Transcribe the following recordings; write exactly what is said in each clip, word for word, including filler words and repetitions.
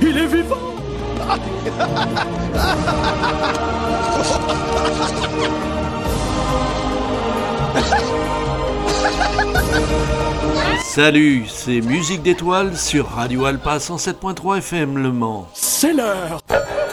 Il est vivant! Salut, c'est Musique d'étoiles sur Radio Alpa cent sept point trois F M Le Mans. C'est l'heure!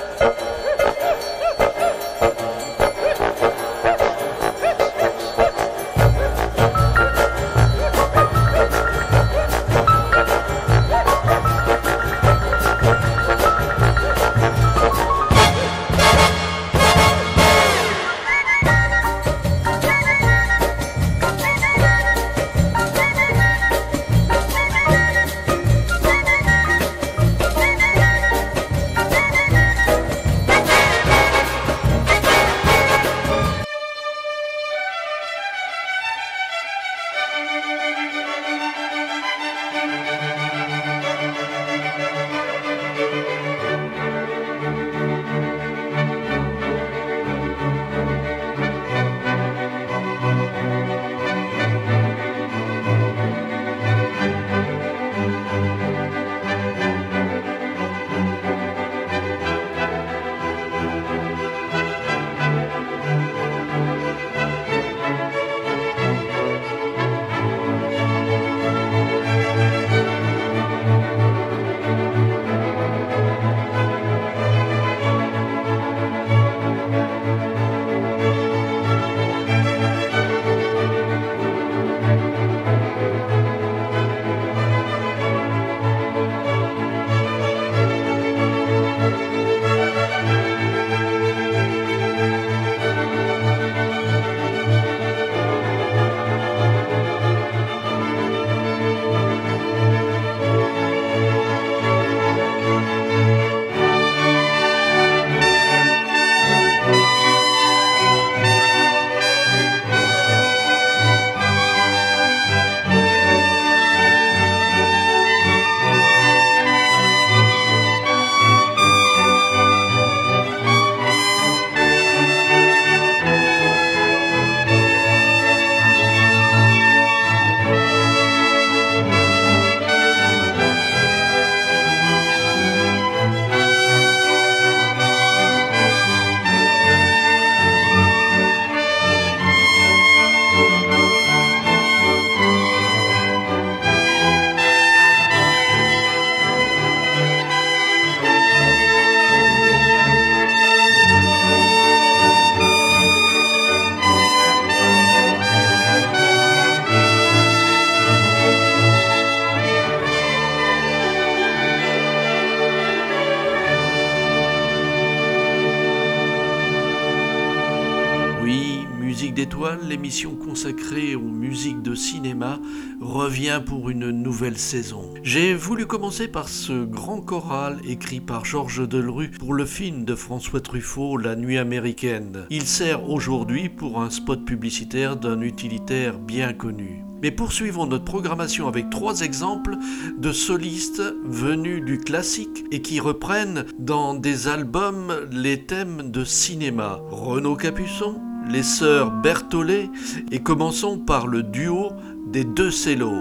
L'émission consacrée aux musiques de cinéma revient pour une nouvelle saison. J'ai voulu commencer par ce grand choral écrit par Georges Delerue pour le film de François Truffaut, La Nuit américaine. Il sert aujourd'hui pour un spot publicitaire d'un utilitaire bien connu. Mais poursuivons notre programmation avec trois exemples de solistes venus du classique et qui reprennent dans des albums les thèmes de cinéma. Renaud Capuçon, les sœurs Berthollet et commençons par le duo des deux cellos.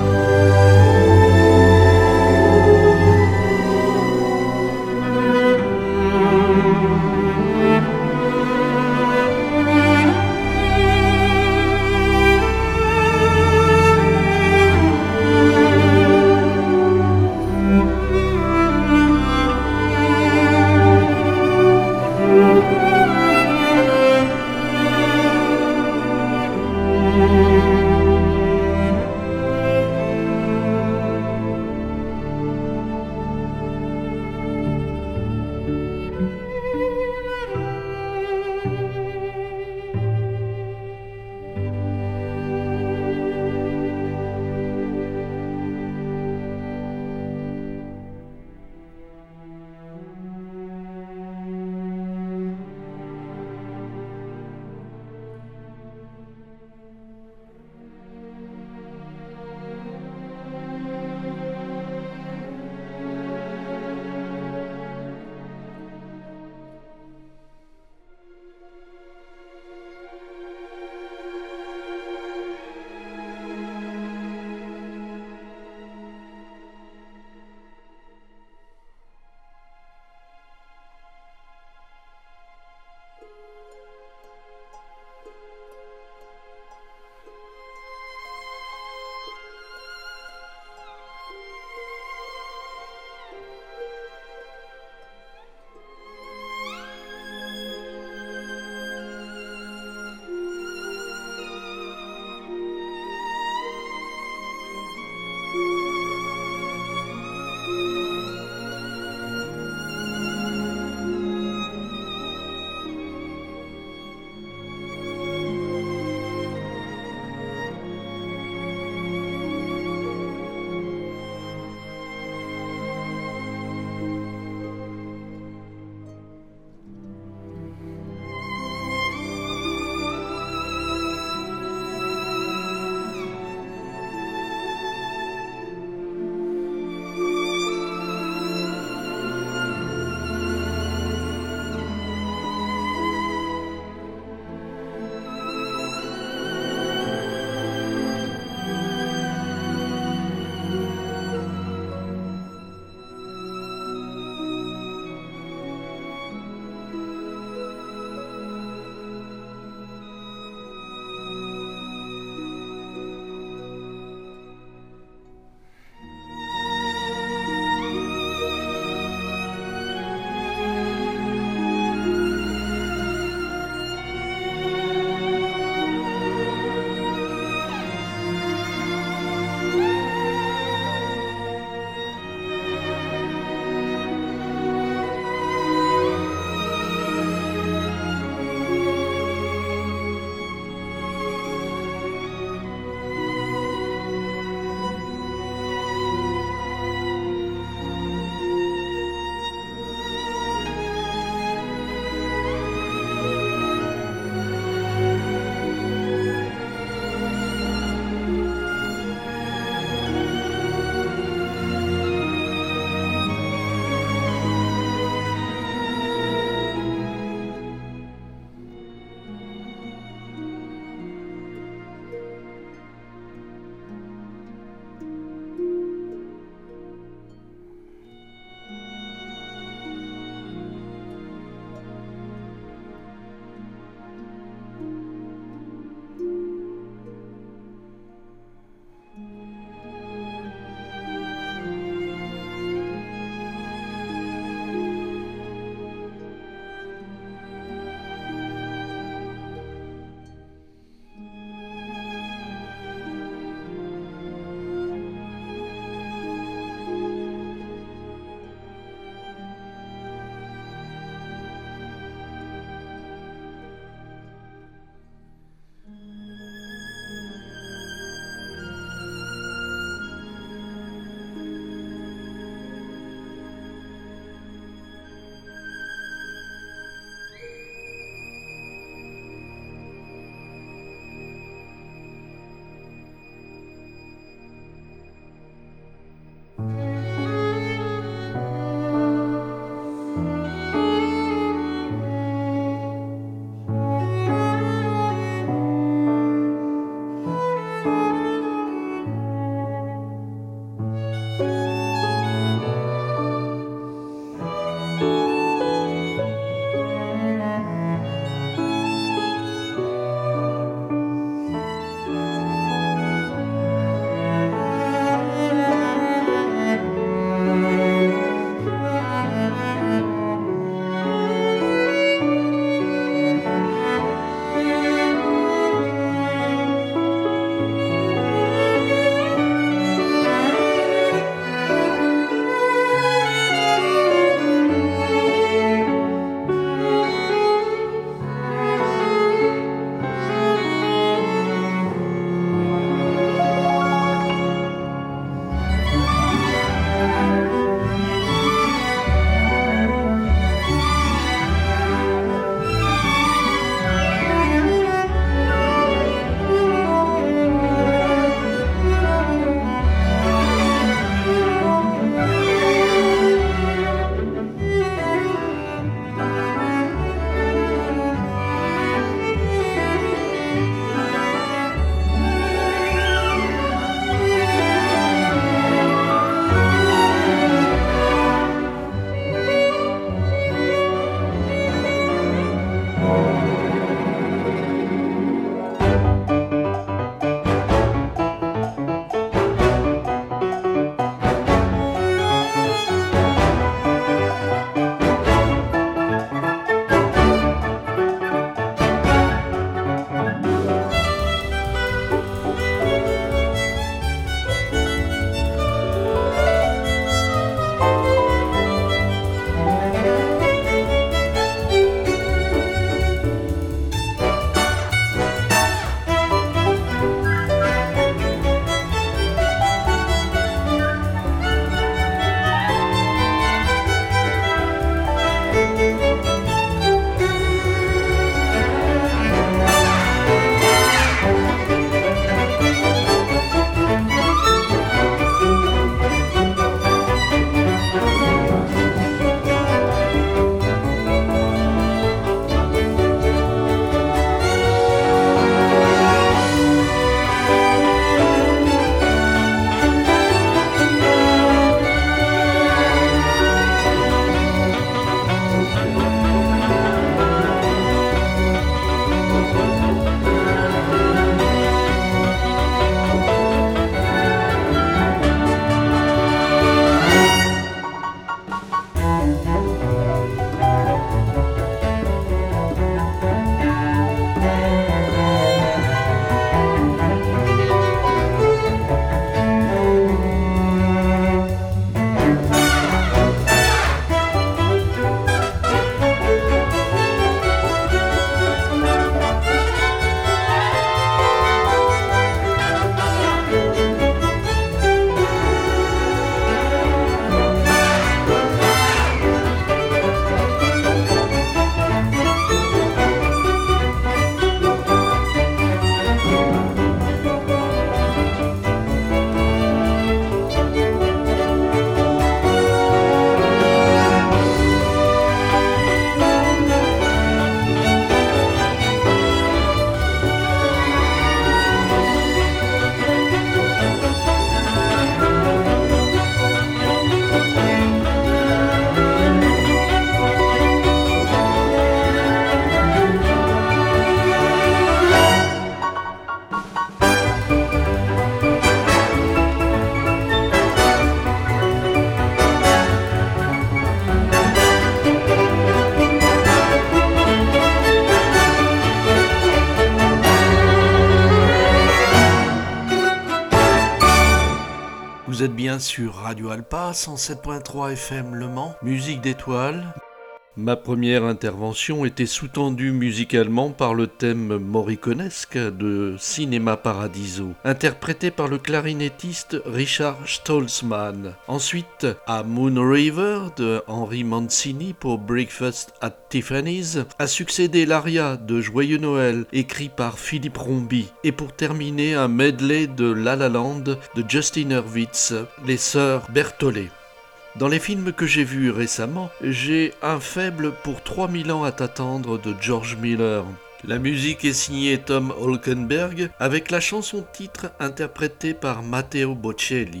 Vous êtes bien sur Radio Alpa, cent sept point trois F M Le Mans, musique d'étoiles. Ma première intervention était sous-tendue musicalement par le thème morriconesque de Cinéma Paradiso, interprété par le clarinettiste Richard Stolzman. Ensuite, à Moon River de Henry Mancini pour Breakfast at Tiffany's, a succédé l'Aria de Joyeux Noël, écrit par Philippe Rombi. Et pour terminer, un medley de La La Land de Justin Hurwitz, les sœurs Berthollet. Dans les films que j'ai vus récemment, j'ai un faible pour trois mille ans à t'attendre de George Miller. La musique est signée Tom Holkenberg avec la chanson titre interprétée par Matteo Bocelli.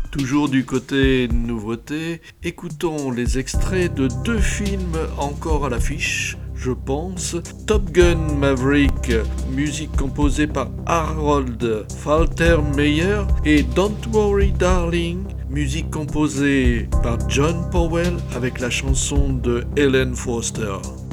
Toujours du côté nouveauté, écoutons les extraits de deux films encore à l'affiche, je pense. Top Gun Maverick, musique composée par Harold Faltermeyer, et Don't Worry Darling, musique composée par John Powell avec la chanson de Helen Foster.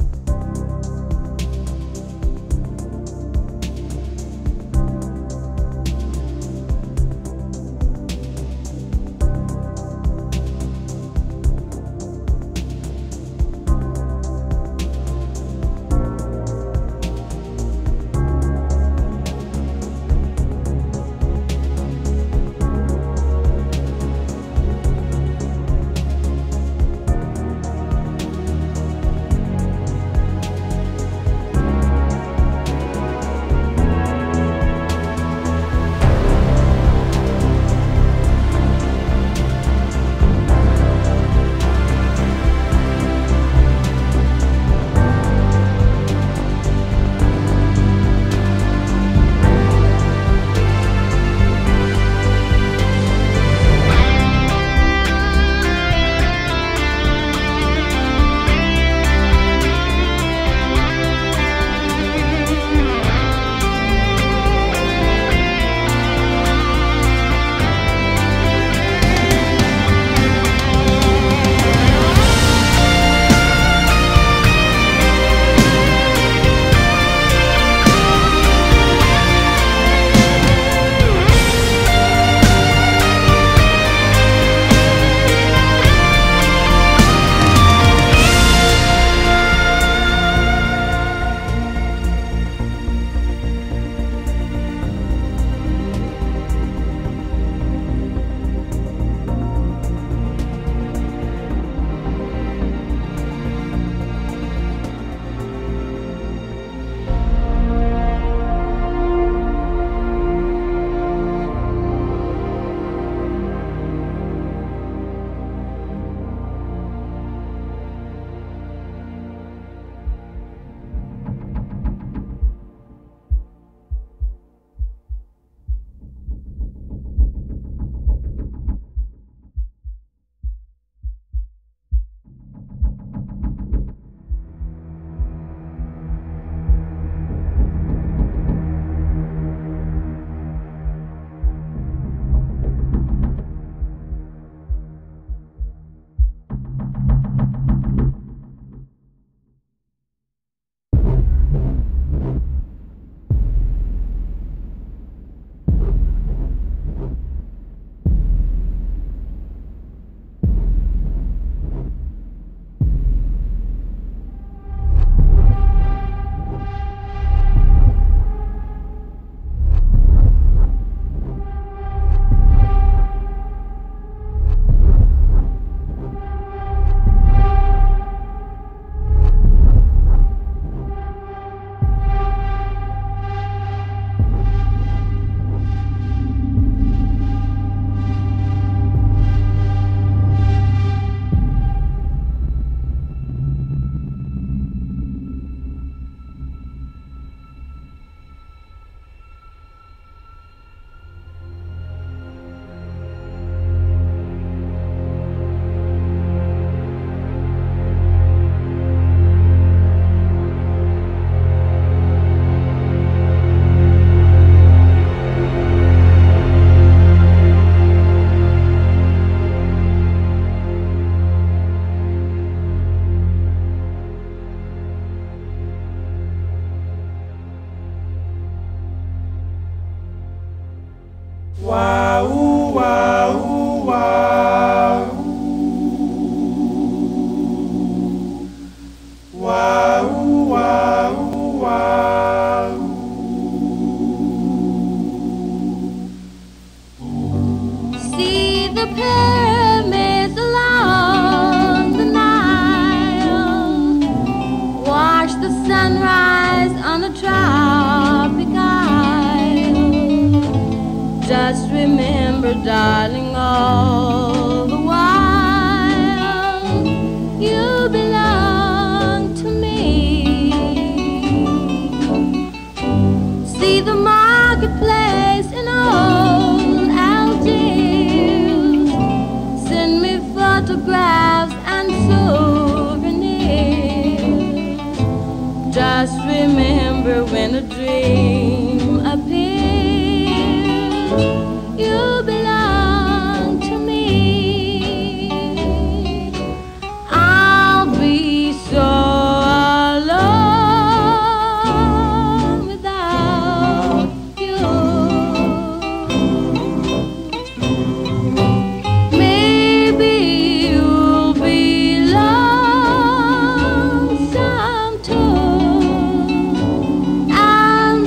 Darling, all the while you belong to me. See the marketplace in old Algiers, photographs and souvenirs. Just remember when a dream appears, you belong to me. I'll be so alone without you. Maybe you'll be lonesome too, and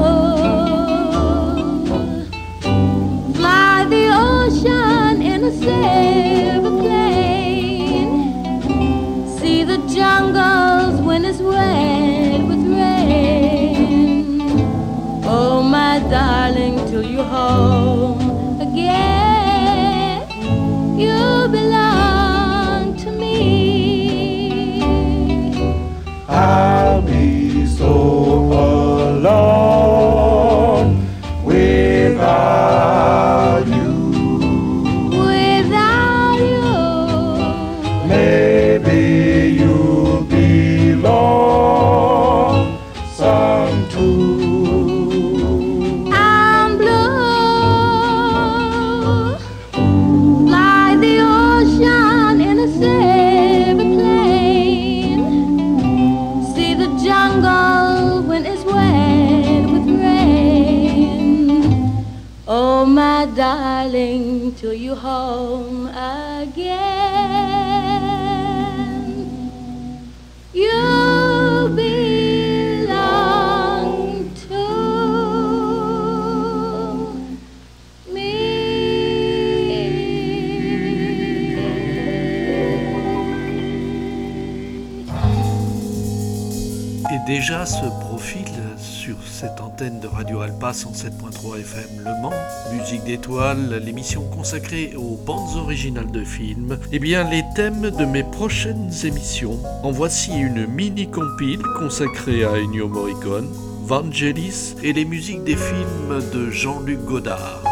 blue. Fly the ocean in a silver plane. See the jungles when it's wet with rain. Oh, my darling, till you're home again, you belong to me. I'll be so alone without you. Without you, Maybe you'll be lonesome too. I'm blue. Fly the ocean in a silver plane. See the jungle when it's wet with rain. Oh, my darling, till you home again, you belong to me. Et déjà se profile sur cette antenne de Radio Alpa cent sept point trois F M Le Mans, Musique d'étoiles, l'émission consacrée aux bandes originales de films, et bien les thèmes de mes prochaines émissions. En voici une mini-compile consacrée à Ennio Morricone, Vangelis et les musiques des films de Jean-Luc Godard.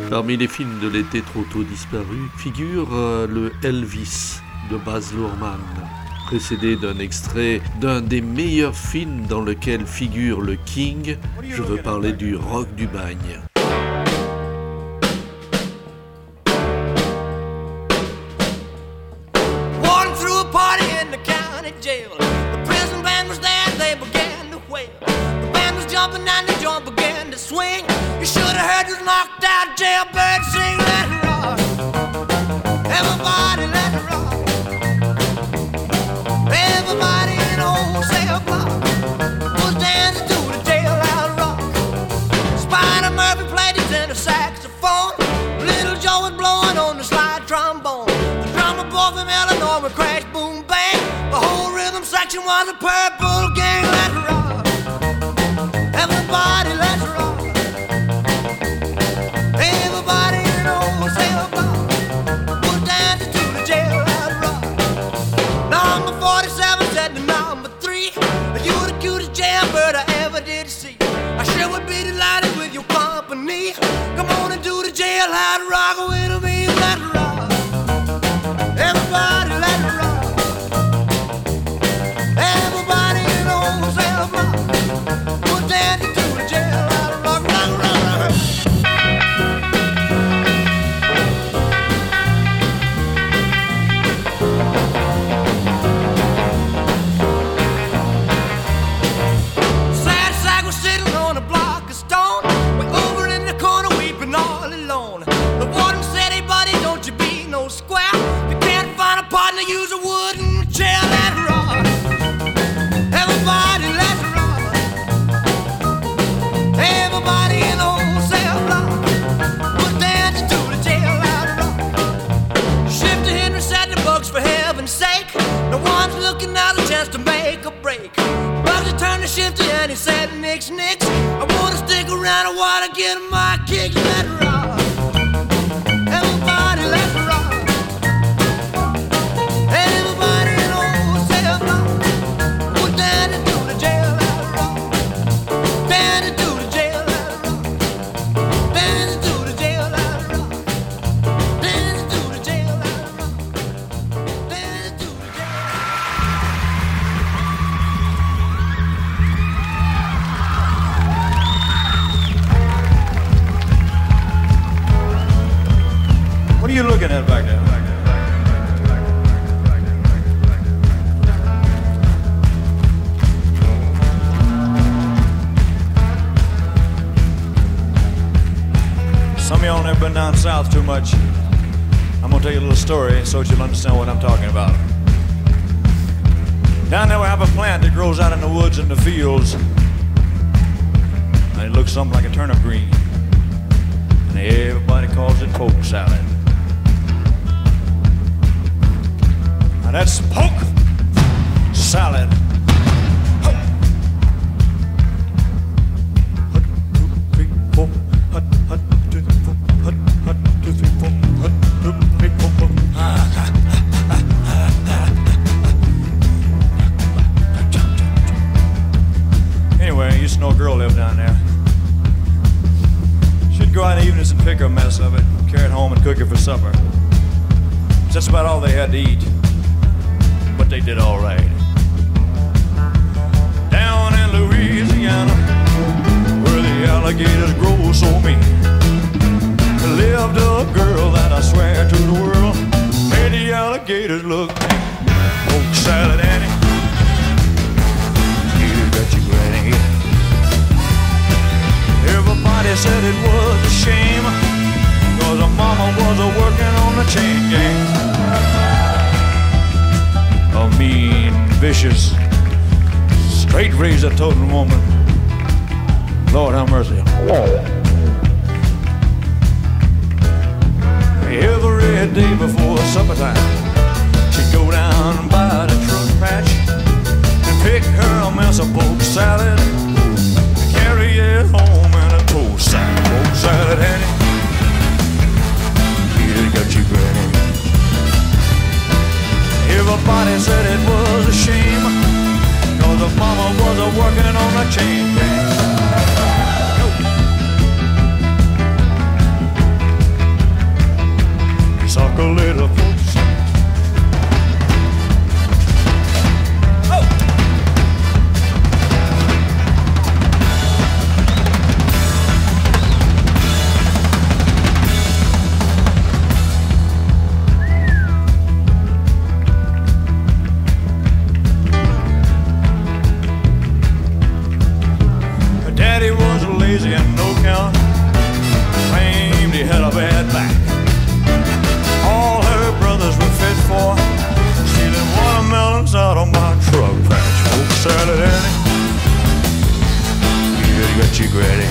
Parmi les films de l'été trop tôt disparu figure euh, le Elvis de Baz Luhrmann, précédé d'un extrait d'un des meilleurs films dans lequel figure le King. Je veux parler du Rock du Bagne. Walking through a party in the county jail. The prison band was there, they began to wail. The band was jumping and the joint began to swing. You should have heard this knocked out jailbird sing. Let it rock, everybody let it rock. Everybody in the whole cell block was dancing to the jailhouse rock. Spider Murphy played his tenor saxophone. Little Joe was blowing on the slide trombone. The drummer boy from Illinois would crash, boom, bang. The whole rhythm section was a purple gang. Let's rock, everybody let's rock. Everybody in the whole cell block was dancing to the jailhouse rock. Number forty-seven said to number three, you the cutest jailbird I ever did see. I sure would be delighted with your company. Come on and do the jailhouse rock with me. Let's rock, everybody let's rock. Everybody in the whole cell block was dancing to the jailhouse rock. Rock, rock, rock. Sad sack was sitting on a block of stone, way over in the corner weeping all alone. The warden said, hey buddy, don't you be no square. If you can't find a partner, use a wooden chair. Let's rock, everybody let's rock. Everybody in the whole cell block was dancing to the jailhouse rock. Shifter Henry said the bugs for heaven's sake. No one's looking out a chance to make a break. Bugsy turned to Shifter and he said, nix, nix, I wanna stick around, I wanna get my kicks. Let's rock, everybody let's rock. Everybody in the whole cell block was dancing to the jailhouse rock. Dancing to the jailhouse rock. Dancing to the jailhouse rock. Dancing to the jailhouse rock. Dancing to the jailhouse What are you looking at back there? Some of y'all never been down south too much. I'm gonna tell you a little story so that you'll understand what I'm talking about. Down there we have a plant that grows out in the woods and the fields, and it looks something like a turnip green, and everybody calls it poke salad. Now that's poke salad. Hut, two, three, four. Hut, hut, two, three, four. Hut, hut, two, three, four. Hut, two, three, four, four. Anyway, I used to know a girl lived down there. She'd go out in the evenings and pick her a mess of it, carry it home and cook it for supper. That's about all they had to eat. But they did all right. Down in Louisiana, where the alligators grow so mean, lived a girl that I swear to the world made the alligators look mean. Poke salad Annie, you got your granny. Everybody said it was a shame, cause her mama was a working on the chain gang. A mean, vicious, straight razor toting woman. Lord have mercy. Every day before supper time, she'd go down by the truck patch and pick her a mess of poke salad, carry it home in a toast sack. Poke salad, Annie, you got your granny. Everybody said it was a shame, cause the mama was a working on a chain gang. crazy and no count. Claimed he had a bad back. All her brothers were fit for stealing watermelons out of my truck patch. Poke salad, Annie. You got you granny.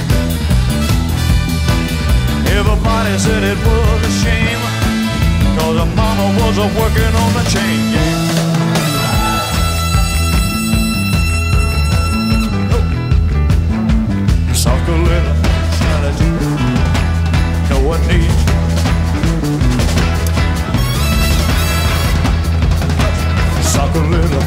Everybody said it was a shame, cause her mama was a working on the chain gang. Suck a little salad, no one needs. Suck a little.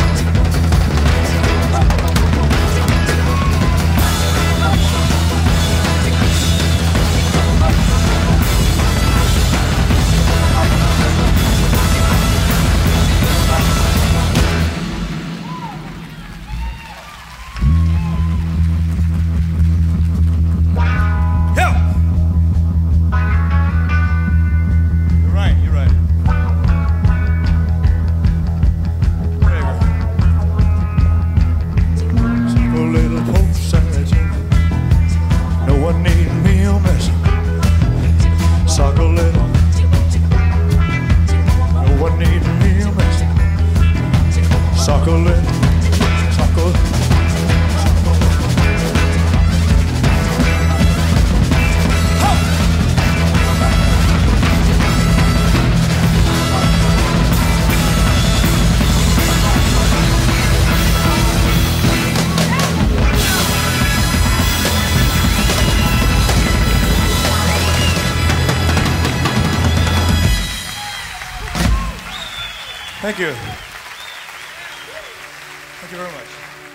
Thank you. Thank you very much.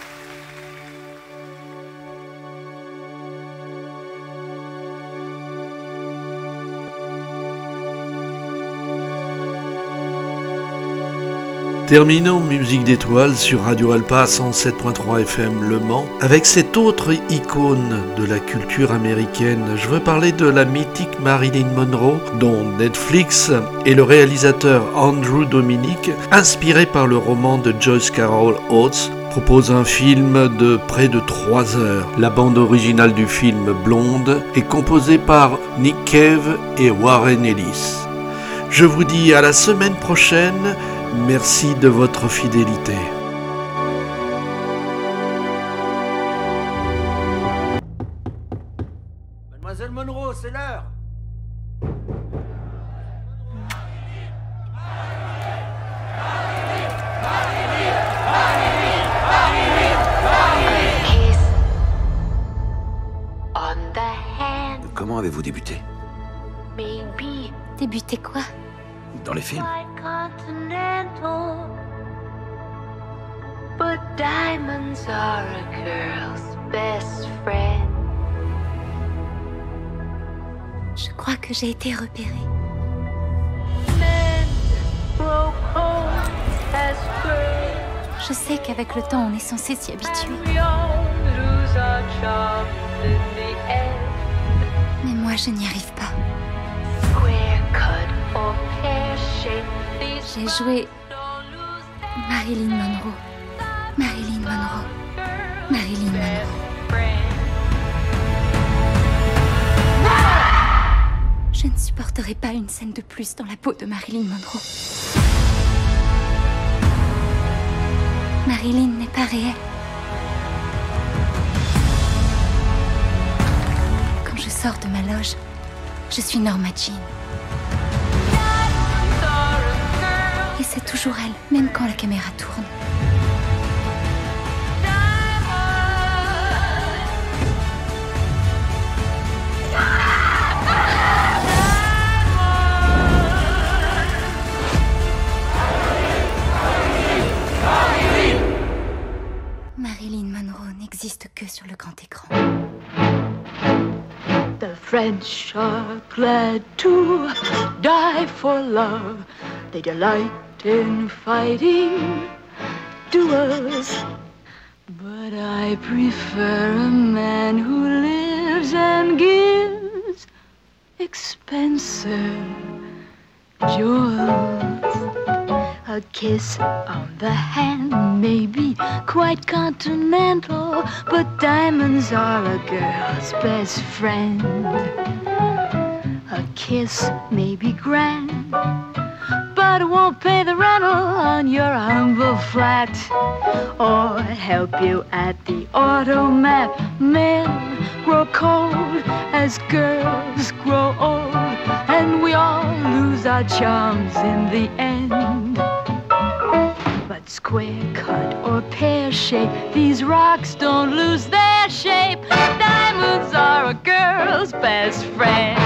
Terminons Musique d'étoiles sur Radio Alpa cent sept point trois F M Le Mans avec cette autre icône de la culture américaine. Je veux parler de la mythique Marilyn Monroe, dont Netflix et le réalisateur Andrew Dominik, inspiré par le roman de Joyce Carol Oates, propose un film de près de trois heures. La bande originale du film Blonde est composée par Nick Cave et Warren Ellis. Je vous dis à la semaine prochaine. Merci de votre fidélité. Mademoiselle Monroe, c'est l'heure. Comment avez-vous débuté? Baby. Débuté quoi? Dans les films. But diamonds are a girl's best friend. Je crois que j'ai été repérée. Je sais qu'avec le temps, on est censé s'y habituer. Mais moi, je n'y arrive pas. J'ai joué Marilyn Monroe. Marilyn Monroe. Marilyn Monroe. Je ne supporterai pas une scène de plus dans la peau de Marilyn Monroe. Marilyn n'est pas réelle. Quand je sors de ma loge, je suis Norma Jean. Et c'est toujours elle, même quand la caméra tourne. Marilyn Monroe n'existe que sur le grand écran. The French are glad to die for love. They delight in fighting duels. But I prefer a man who lives and gives expensive jewels. A kiss on the hand may be quite continental, but diamonds are a girl's best friend. A kiss may be grand, but it won't pay the rental on your humble flat, or help you at the automat. Men grow cold as girls grow old, and we all lose our charms in the end. But square cut or pear shape, these rocks don't lose their shape. Diamonds are a girl's best friend.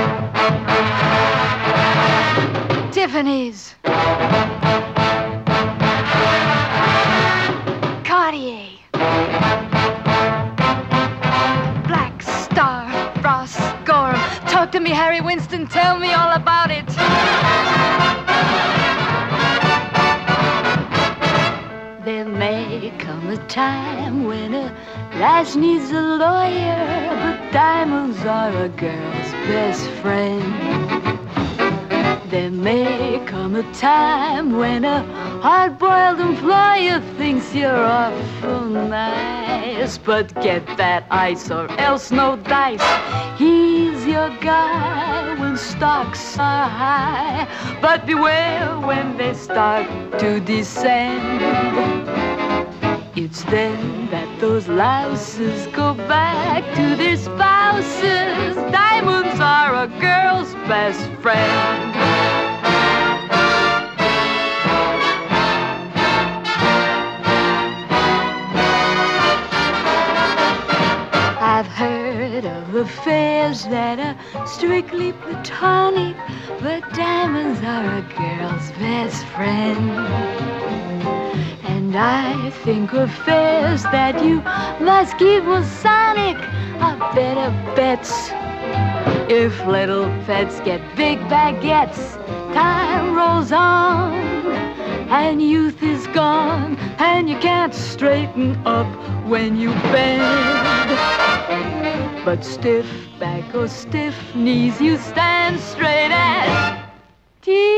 Tiffany's, Cartier, Black Star, Ross Gorham. Talk to me, Harry Winston, tell me all about it. There may come a time when a lass needs a lawyer, but diamonds are a girl's best friend. There may come a time when a hard-boiled employer thinks you're awful nice, but get that ice or else no dice. He's your guy when stocks are high, but beware when they start to descend. It's then that those louses go back to their spouses. Diamonds are a girl's best friend. I've heard of affairs that are strictly platonic, but diamonds are a girl's best friend. And I think affairs that you must keep Masonic are better bets. If little pets get big baguettes, time rolls on, and youth is gone, and you can't straighten up when you bend. But stiff back or stiff knees, you stand straight as teeth.